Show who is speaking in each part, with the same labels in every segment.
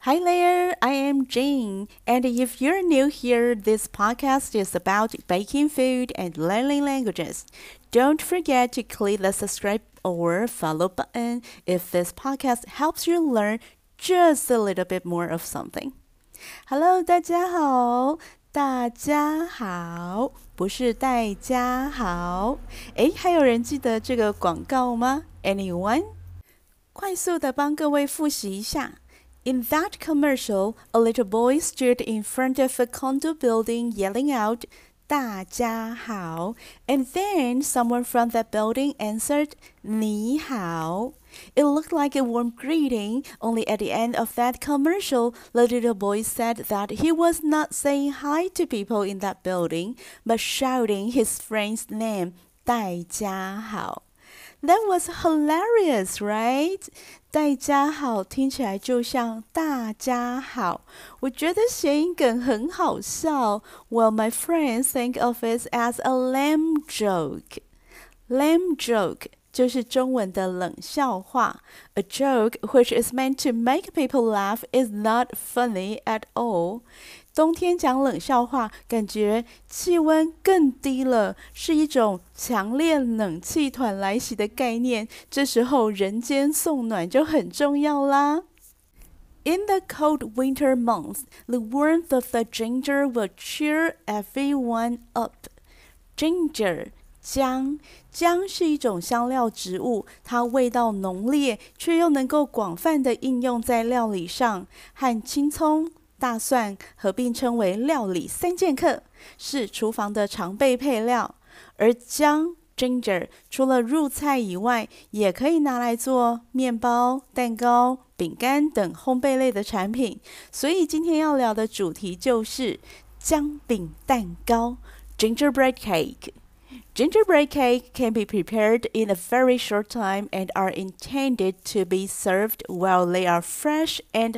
Speaker 1: Hi there, I am Jane, and if you're new here, this podcast is about baking food and learning languages. Don't forget to click the subscribe or follow button if this podcast helps you learn just a little bit more of something. Hello， 大家好，大家好，不是戴家豪。誒，還有人記得這個廣告嗎 ？Anyone？ 快速的幫各位複習一下。In that commercial, a little boy stood in front of a condo building yelling out, 大家好, and then someone from that building answered, 你好. It looked like a warm greeting, only at the end of that commercial, the little boy said that he was not saying hi to people in that building, but shouting his friend's name, 大家好. That was hilarious, right? 大家好聽起來就像大家好，我覺得諧音梗很好笑。Well, my friends think of it as a lame joke. Lame joke 就是中文的冷笑話。A joke which is meant to make people laugh is not funny at all. 冬天講冷笑話，感覺氣溫更低了，是一種強烈冷氣團來襲的概念。這時候人間送暖就很重要啦。In the cold winter months, the warmth of the ginger will cheer everyone up. Ginger, 姜是一種香料植物，它味道濃烈，卻又能夠廣泛的應用在料理上，和青蔥大蒜合併稱為料理三劍客，是廚房的常備配料。而薑 ginger 除了入菜以外，也可以拿來做麵包、蛋糕、餅乾等烘焙類的產品。所以今天要聊的主題就是薑餅蛋糕 gingerbread cake。Gingerbread cake can be prepared in a very short time and are intended to be served while they are fresh and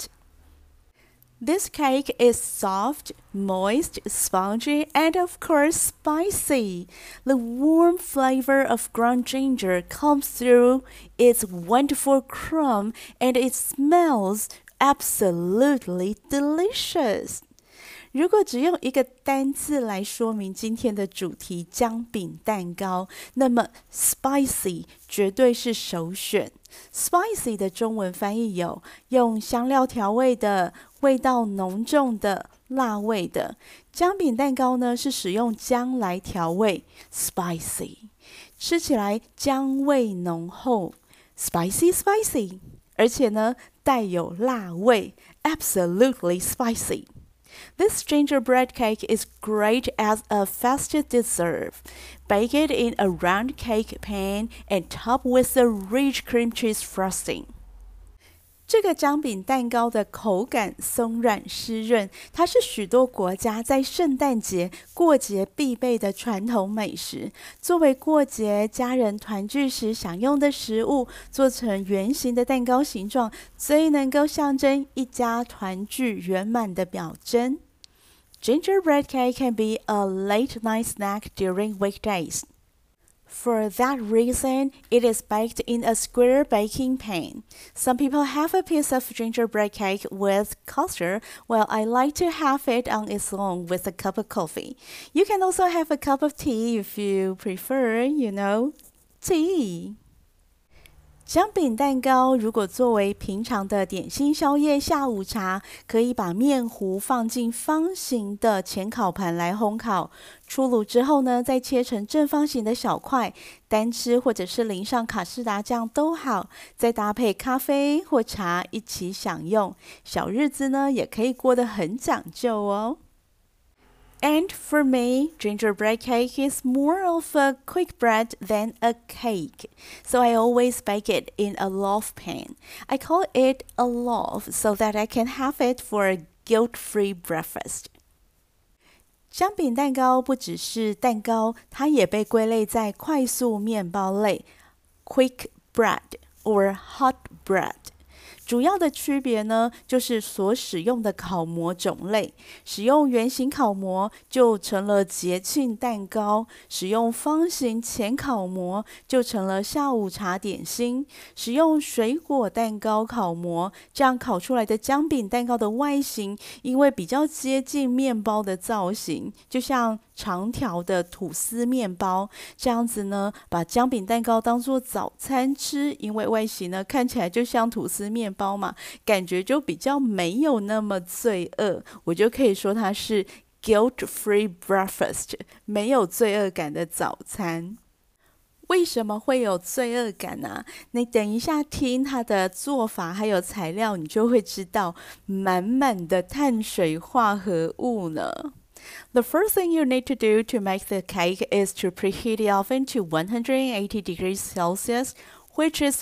Speaker 1: hot.This cake is soft, moist, spongy, and of course spicy. The warm flavor of ground ginger comes through its wonderful crumb, and it smells absolutely delicious. 如果只用一個單字來說明今天的主題薑餅蛋糕，那麼 spicy 絕對是首選。Spicy 的中文翻譯有用香料調味的、味道濃重的、辣味的。薑餅蛋糕呢是使用薑來調味 ，spicy， 吃起來薑味濃厚 ，spicy， 而且呢帶有辣味 ，absolutely spicy。This gingerbread cake is great as a festive dessert. Bake it in a round cake pan and top with a rich cream cheese frosting. 這個薑餅蛋糕的口感鬆軟濕潤，它是許多國家在聖誕節、過節必備的傳統美食。作為過節家人團聚時享用的食物，做成圓形的蛋糕形狀，最能夠象徵一家團聚圓滿的表徵。Gingerbread cake can be a late-night snack during weekdays. For that reason, it is baked in a square baking pan. Some people have a piece of gingerbread cake with custard, while I like to have it on its own with a cup of coffee. You can also have a cup of tea if you prefer, tea. 薑餅蛋糕如果作為平常的點心宵夜下午茶，可以把麵糊放進方形的淺烤盤來烘烤，出爐之後呢，再切成正方形的小塊，單吃或者是淋上卡士達醬都好，再搭配咖啡或茶一起享用，小日子呢也可以過得很講究哦。And for me, gingerbread cake is more of a quick bread than a cake. So I always bake it in a loaf pan. I call it a loaf so that I can have it for a guilt-free breakfast. 薑餅蛋糕不只是蛋糕，它也被歸類在快速麵包類 （quick bread or hot bread）。 主要的區別呢，就是所使用的烤模種類。使用圓形烤模就成了節慶蛋糕，使用方形淺烤模就成了下午茶點心，使用水果蛋糕烤模，這樣烤出來的薑餅蛋糕的外形，因為比較接近麵包的造型，就像長條的吐司麵包，這樣子呢，把薑餅蛋糕當做早餐吃，因為外形呢看起來就像吐司麵包嘛，感覺就比較沒有那麼罪惡，我就可以說它是 guilt-free breakfast， 沒有罪惡感的早餐。為什麼會有罪惡感呢？你等一下聽它的做法還有材料，你就會知道滿滿的碳水化合物呢。The first thing you need to do to make the cake is to preheat the oven to 180 degrees Celsius, which is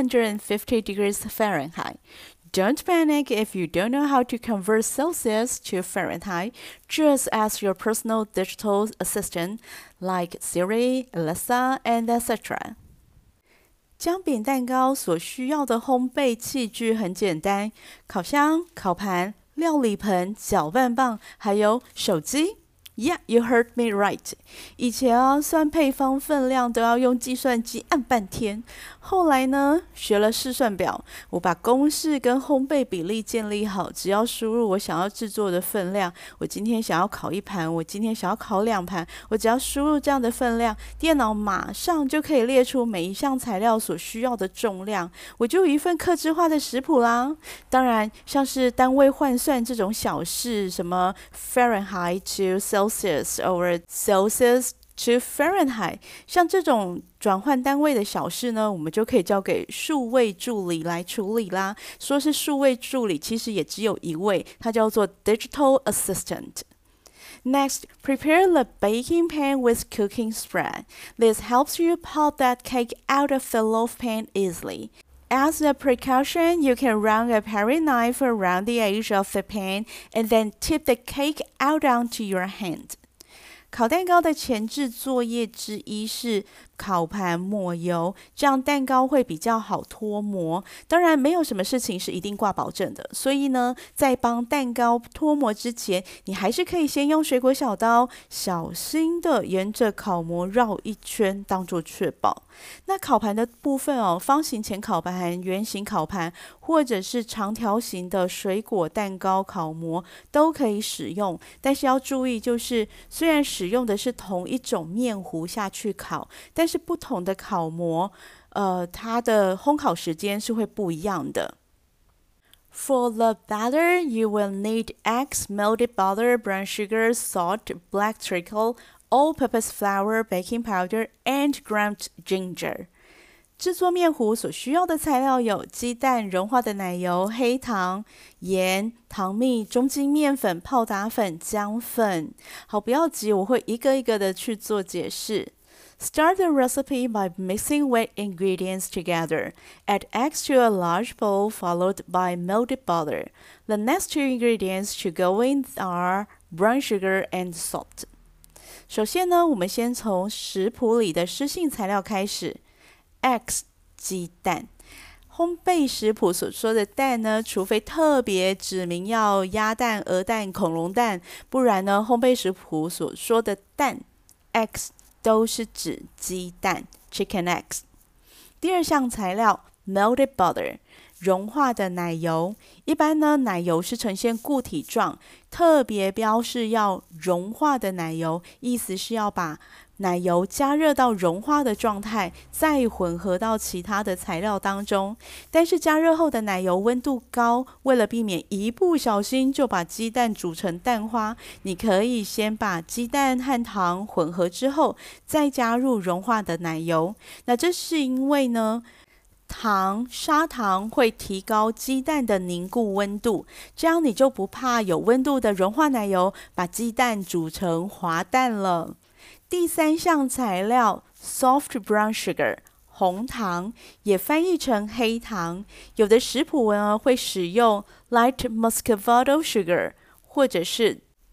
Speaker 1: 350 degrees Fahrenheit. Don't panic if you don't know how to convert Celsius to Fahrenheit. Just ask your personal digital assistant like Siri, Alexa, and etc. 薑餅蛋糕所需要的烘焙器具很簡單：烤箱、烤盤、料理盆、攪拌棒，還有手機。Yeah, you heard me right. 以前算配方分量都要用計算機按半天。後來呢，學了試算表，我把公式跟烘焙比例建立好，只要輸入我想要製作的分量，我今天想要烤1盤，我今天想要烤2盤，我只要輸入這樣的分量，電腦馬上就可以列出每一項材料所需要的重量，我就有一份客製化的食譜啦。當然，像是單位換算這種小事，什麼 Fahrenheit to Celsius or Celsius to Fahrenheit， 像這種轉換單位的小事呢，我們就可以交給數位助理來處理啦。說是數位助理，其實也只有一位，它叫做 Digital Assistant. Next, prepare the baking pan with cooking spread. This helps you pop that cake out of the loaf pan easily. As a precaution, you can run a paring knife around the edge of the pan and then tip the cake out onto your hand. 烤蛋糕的前置作業之一是烤盤抹油，這樣蛋糕會比較好脫模。當然，沒有什麼事情是一定掛保證的，所以呢，在幫蛋糕脫模之前，你還是可以先用水果小刀小心的沿着烤模繞一圈，當做確保。那烤盤的部分方形淺烤盤、圓形烤盤，或者是長條形的水果蛋糕烤模都可以使用，但是要注意，就是雖然使用的是同一種麵糊下去烤，但是不同的烤模，它的烘烤時間是會不一樣的。For the batter, you will need eggs, melted butter, brown sugar, salt, black treacle, all-purpose flour, baking powder, and ground ginger. 製作麵糊所需要的材料有雞蛋、融化的奶油、黑糖、鹽、糖蜜、中筋麵粉、泡打粉、薑粉。好，不要急，我會一個一個的去做解釋。Start the recipe by mixing wet ingredients together. Add eggs to a large bowl followed by melted butter. The next two ingredients to go in are brown sugar and salt. 首先呢，我們先從食譜裡的濕性材料開始。Eggs 雞蛋，烘焙食譜所說的蛋呢，除非特別指明要鴨蛋、鵝蛋、恐龍蛋，不然呢，烘焙食譜所說的蛋 eggs 都是指雞蛋 chicken eggs。第二項材料 melted butter， 融化的奶油。一般呢，奶油是呈現固體狀，特別標示要融化的奶油，意思是要把奶油加熱到融化的狀態，再混合到其他的材料當中。但是加熱後的奶油溫度高，為了避免一不小心就把雞蛋煮成蛋花，你可以先把雞蛋和糖混合之後，再加入融化的奶油。那這是因為呢，砂糖會提高雞蛋的凝固溫度，這樣你就不怕有溫度的融化奶油把雞蛋煮成滑蛋了。第三項材料 soft brown sugar， 紅糖，也翻譯成黑糖。有的食譜文會使用 light muscovado sugar， 或者是 dark muscovado sugar。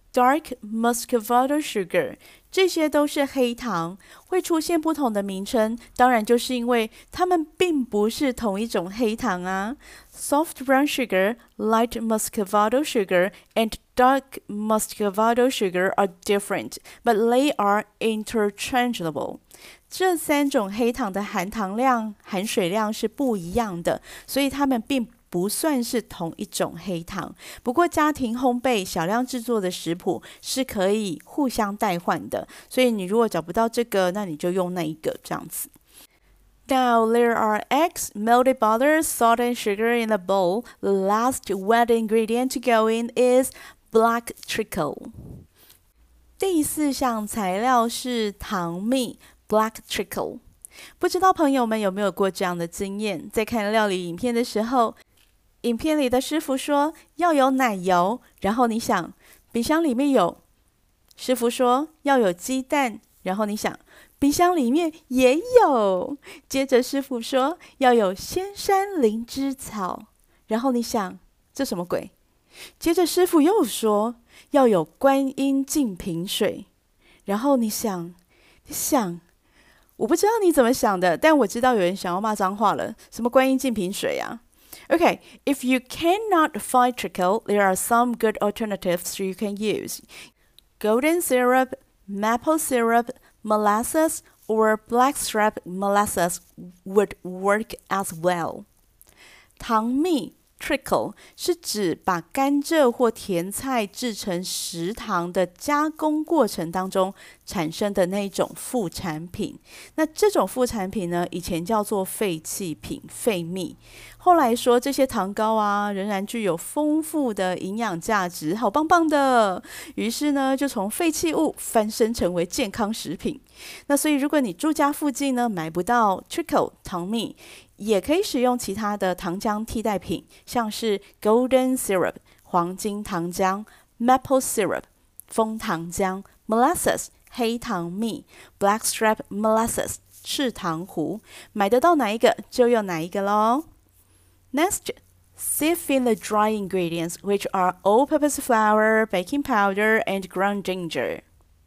Speaker 1: dark muscovado sugar， 這些都是黑糖，會出現不同的名稱，當然就是因為它們並不是同一種黑糖啊。Soft brown sugar, light muscovado sugar, and dark muscovado sugar are different, but they are interchangeable. 這三種黑糖的含糖量、含水量是不一樣的，所以它們並不算是同一種黑糖。不過家庭烘焙、小量製作的食譜是可以互相代換的，所以你如果找不到這個，那你就用那一個這樣子。Now there are eggs, melted butter, salt and sugar in a bowl. The last wet ingredient to go in is black treacle. 第四項材料是糖蜜 black treacle。不知道朋友們有沒有過這樣的經驗，在看料理影片的時候，影片裡的師傅說要有奶油，然後你想冰箱裡面有，師傅說要有雞蛋，然後你想冰箱裡面也有，接着師傅說要有仙山靈芝草，然後你想這什麼鬼？接着師傅又說要有觀音淨瓶水，然後你想，我不知道你怎麼想的，但我知道有人想要罵髒話了，什麼觀音淨瓶水啊？Okay, if you cannot find treacle, there are some good alternatives you can use. Golden syrup, maple syrup, molasses, or blackstrap molasses would work as well. 糖蜜 treacle 是指把甘蔗或甜菜製成實糖的加工過程當中產生的那種副產品。那這種副產品呢，以前叫做廢棄品、廢蜜。後來說這些糖糕啊，仍然具有豐富的營養價值，好棒棒的。於是呢，就從廢棄物翻身成為健康食品。那所以，如果你住家附近呢，買不到 treacle 糖蜜，也可以使用其他的糖漿替代品，像是 golden syrup 黃金糖漿、maple syrup 楓糖漿、molasses 黑糖蜜、blackstrap molasses 赤糖糊，買得到哪一個就用哪一個咯。Next, sieve in the dry ingredients, which are all-purpose flour, baking powder, and ground ginger.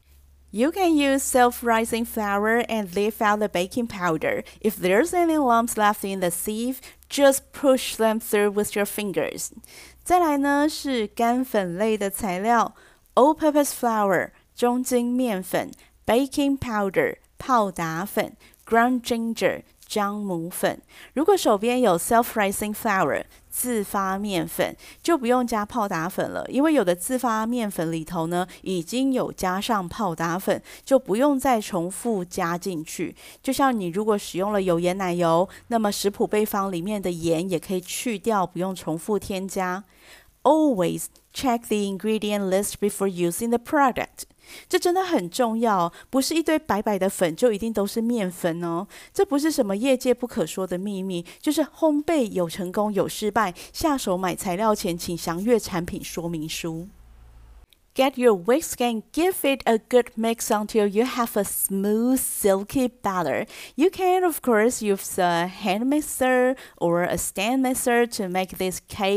Speaker 1: You can use self-rising flour and leave out the baking powder. If there's any lumps left in the sieve, just push them through with your fingers. 再來呢是乾粉類的材料 all-purpose flour 中筋麵粉 baking powder 泡打粉 ground ginger 樟母粉。如果手邊有 self-rising flour 自發麵粉，就不用加泡打粉了，因為有的自發麵粉裡頭呢已經有加上泡打粉，就不用再重複加進去。就像你如果使用了有鹽奶油，那麼食譜備方裡面的鹽也可以去掉，不用重複添加。Always check the ingredient list before using the product. 這真的很重要，不是一堆白白的粉就一定都是麵粉哦。這不是什麼業界不可說的秘密，就是烘焙有成功有失敗，下手買材料前請詳閱產品說明書。Get your whisk and give it a good mix until you have a smooth, silky batter. You can, of course, use a hand mixer or a stand mixer to make this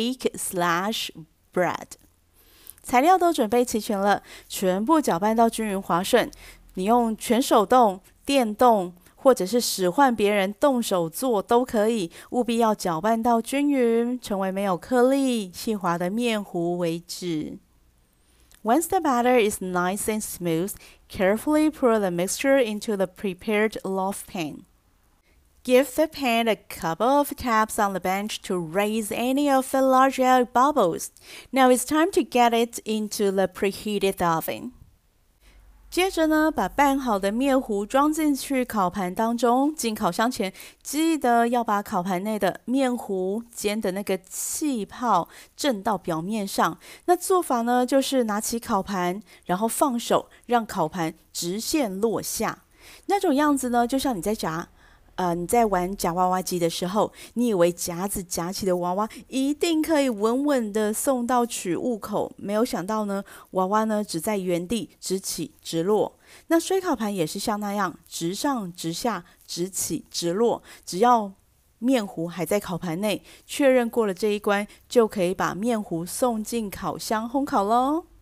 Speaker 1: cake/bread. 材料都準備齊全了，全部攪拌到均勻滑順。你用全手動、電動，或者是使喚別人動手做都可以，務必要攪拌到均勻，成為沒有顆粒、細滑的麵糊為止。Once the batter is nice and smooth, carefully pour the mixture into the prepared loaf pan. Give the pan a couple of taps on the bench to raise any of the large air bubbles. Now it's time to get it into the preheated oven. 接着呢，把拌好的麵糊裝進去烤盤當中。進烤箱前，記得要把烤盤內的麵糊煎的那個氣泡震到表面上。那做法呢，就是拿起烤盤，然後放手，讓烤盤直線落下。那種樣子呢，就像你在玩夾娃娃機的時候，你以為夾子夾起的娃娃一定可以穩穩的送到取物口，沒有想到呢，娃娃呢只在原地直起直落。那水烤盤也是像那樣直上直下，直起直落，只要麵糊還在烤盤內，確認過了這一關，就可以把麵糊送進烤箱烘烤咯。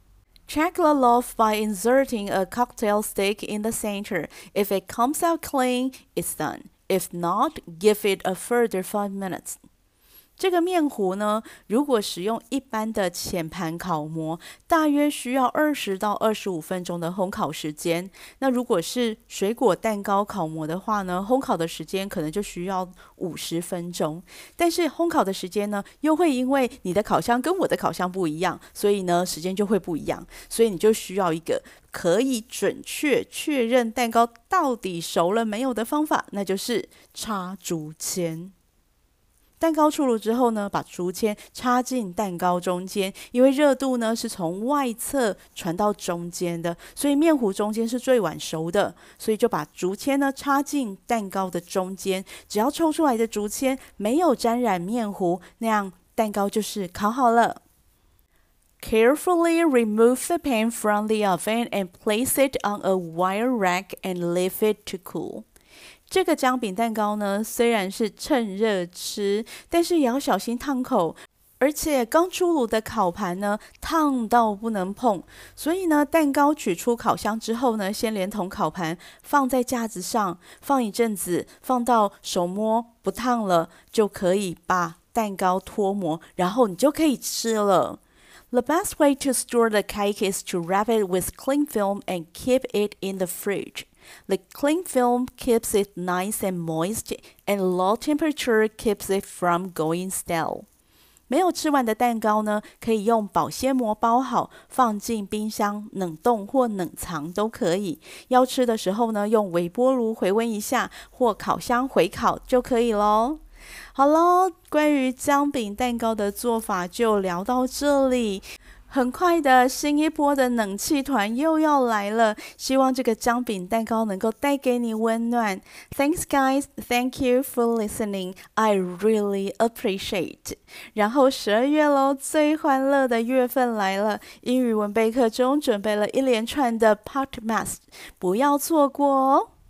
Speaker 1: Check the loaf by inserting a cocktail stick in the center. If it comes out clean, it's done. If not, give it a further 5 minutes. 這個麵糊呢，如果使用一般的淺盤烤模，大約需要20到25分鐘的烘烤時間。那如果是水果蛋糕烤模的話呢，烘烤的時間可能就需要50分鐘。但是烘烤的時間呢，又會因為你的烤箱跟我的烤箱不一樣，所以呢，時間就會不一樣。所以你就需要一個可以準確確認蛋糕到底熟了沒有的方法，那就是插竹籤。蛋糕出爐之後呢，把竹籤插進蛋糕中間，因為熱度呢是從外側傳到中間的，所以麵糊中間是最晚熟的，所以就把竹籤呢插進蛋糕的中間，只要抽出來的竹籤沒有沾染麵糊，那樣蛋糕就是烤好了。Carefully remove the pan from the oven and place it on a wire rack and leave it to cool. 這個薑餅蛋糕呢，雖然是趁熱吃，但是也要小心燙口，而且剛出爐的烤盤呢，燙到不能碰。所以呢，蛋糕取出烤箱之後呢，先連同烤盤放在架子上，放一陣子，放到手摸不燙了，就可以把蛋糕脫模，然後你就可以吃了。The best way to store the cake is to wrap it with cling film and keep it in the fridge. The cling film keeps it nice and moist, and low temperature keeps it from going stale. 沒有吃完的蛋糕呢，可以用保鮮膜包好，放進冰箱冷凍或冷藏都可以。要吃的時候呢，用微波爐回溫一下，或烤箱回烤就可以咯。好咯，關於薑餅蛋糕的做法就聊到這裡。很快的，新一波的冷氣團又要來了，希望這個薑餅蛋糕能夠帶給你溫暖。Thanks guys, thank you for listening. I really appreciate. 然後12月咯，最歡樂的月份來了，英語文備課中準備了一連串的 podcast，不要錯過哦。